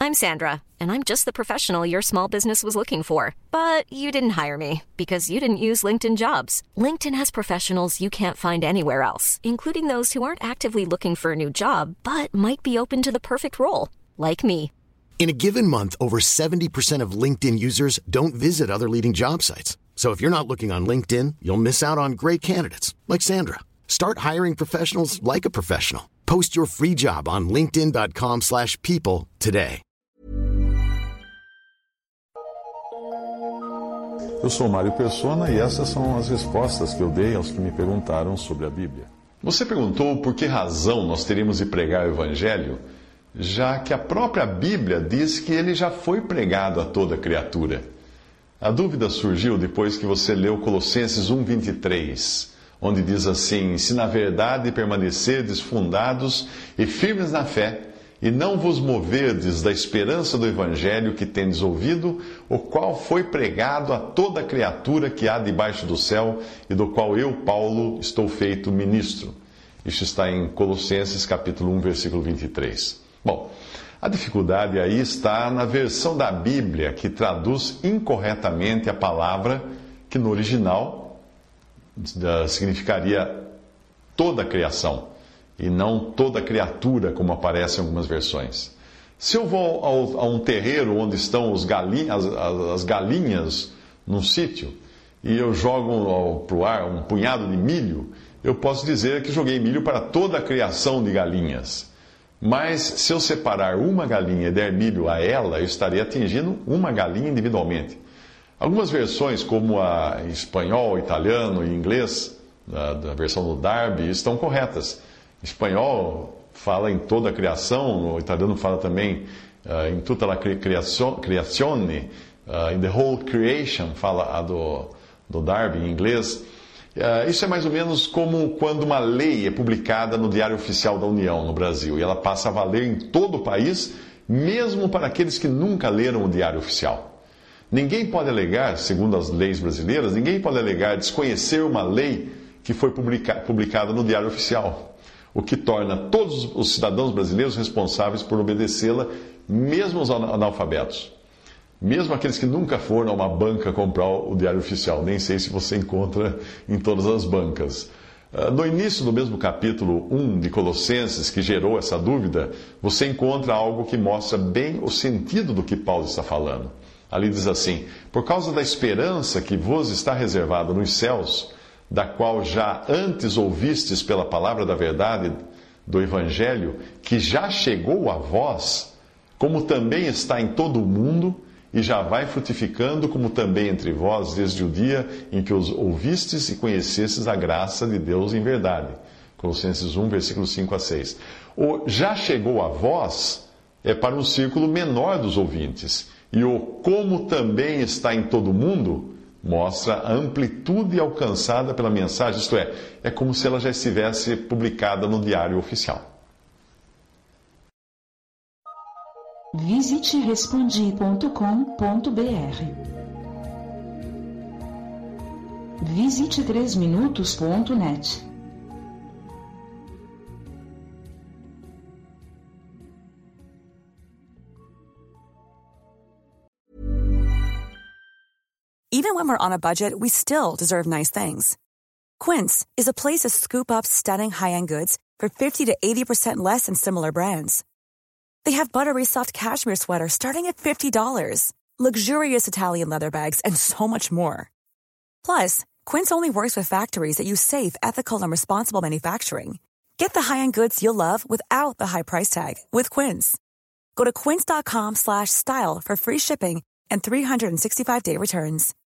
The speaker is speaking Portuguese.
I'm Sandra, and I'm just the professional your small business was looking for. But you didn't hire me because you didn't use LinkedIn Jobs. LinkedIn has professionals you can't find anywhere else, including those who aren't actively looking for a new job, but might be open to the perfect role, like me. In a given month, over 70% of LinkedIn users don't visit other leading job sites. So if you're not looking on LinkedIn, you'll miss out on great candidates like Sandra. Start hiring professionals like a professional. Post your free job on linkedin.com/people today. Eu sou Mário Persona e essas são as respostas que eu dei aos que me perguntaram sobre a Bíblia. Você perguntou por que razão nós teríamos de pregar o Evangelho, já que a própria Bíblia diz que ele já foi pregado a toda criatura. A dúvida surgiu depois que você leu Colossenses 1:23, onde diz assim: se na verdade permanecerdes fundados e firmes na fé, e não vos moverdes da esperança do Evangelho que tendes ouvido, o qual foi pregado a toda criatura que há debaixo do céu, e do qual eu, Paulo, estou feito ministro. Isso está em Colossenses capítulo 1, versículo 23. Bom, a dificuldade aí está na versão da Bíblia que traduz incorretamente a palavra que no original significaria toda a criação e não toda criatura, como aparece em algumas versões. Se eu vou a um terreiro onde estão as galinhas num sítio e eu jogo para o ar um punhado de milho, eu posso dizer que joguei milho para toda a criação de galinhas. Mas se eu separar uma galinha e der milho a ela, eu estarei atingindo uma galinha individualmente. Algumas versões, como a em espanhol, italiano e inglês, da versão do Darby, estão corretas. Em espanhol fala em toda a criação, o italiano fala também em tutta la creazione, in the whole creation, fala a do Darby em inglês. Isso é mais ou menos como quando uma lei é publicada no Diário Oficial da União, no Brasil, e ela passa a valer em todo o país, mesmo para aqueles que nunca leram o Diário Oficial. Ninguém pode alegar, segundo as leis brasileiras, ninguém pode alegar desconhecer uma lei que foi publicada no Diário Oficial, o que torna todos os cidadãos brasileiros responsáveis por obedecê-la, mesmo os analfabetos. Mesmo aqueles que nunca foram a uma banca comprar o Diário Oficial. Nem sei se você encontra em todas as bancas. No início do mesmo capítulo 1 de Colossenses, que gerou essa dúvida, você encontra algo que mostra bem o sentido do que Paulo está falando. Ali diz assim: por causa da esperança que vos está reservada nos céus, da qual já antes ouvistes pela palavra da verdade do Evangelho, que já chegou a vós, como também está em todo o mundo, e já vai frutificando, como também entre vós, desde o dia em que os ouvistes e conhecestes a graça de Deus em verdade. Colossenses 1, versículos 5 a 6. O já chegou a vós é para um círculo menor dos ouvintes. E o como também está em todo o mundo mostra a amplitude alcançada pela mensagem, isto é como se ela já estivesse publicada no Diário Oficial. Visite respondi.com.br. Visite 3minutos.net. Even when we're on a budget, we still deserve nice things. Quince is a place to scoop up stunning high-end goods for 50 to 80% less than similar brands. They have buttery soft cashmere sweaters starting at $50, luxurious Italian leather bags, and so much more. Plus, Quince only works with factories that use safe, ethical, and responsible manufacturing. Get the high-end goods you'll love without the high price tag with Quince. Go to quince.com/style for free shipping and 365-day returns.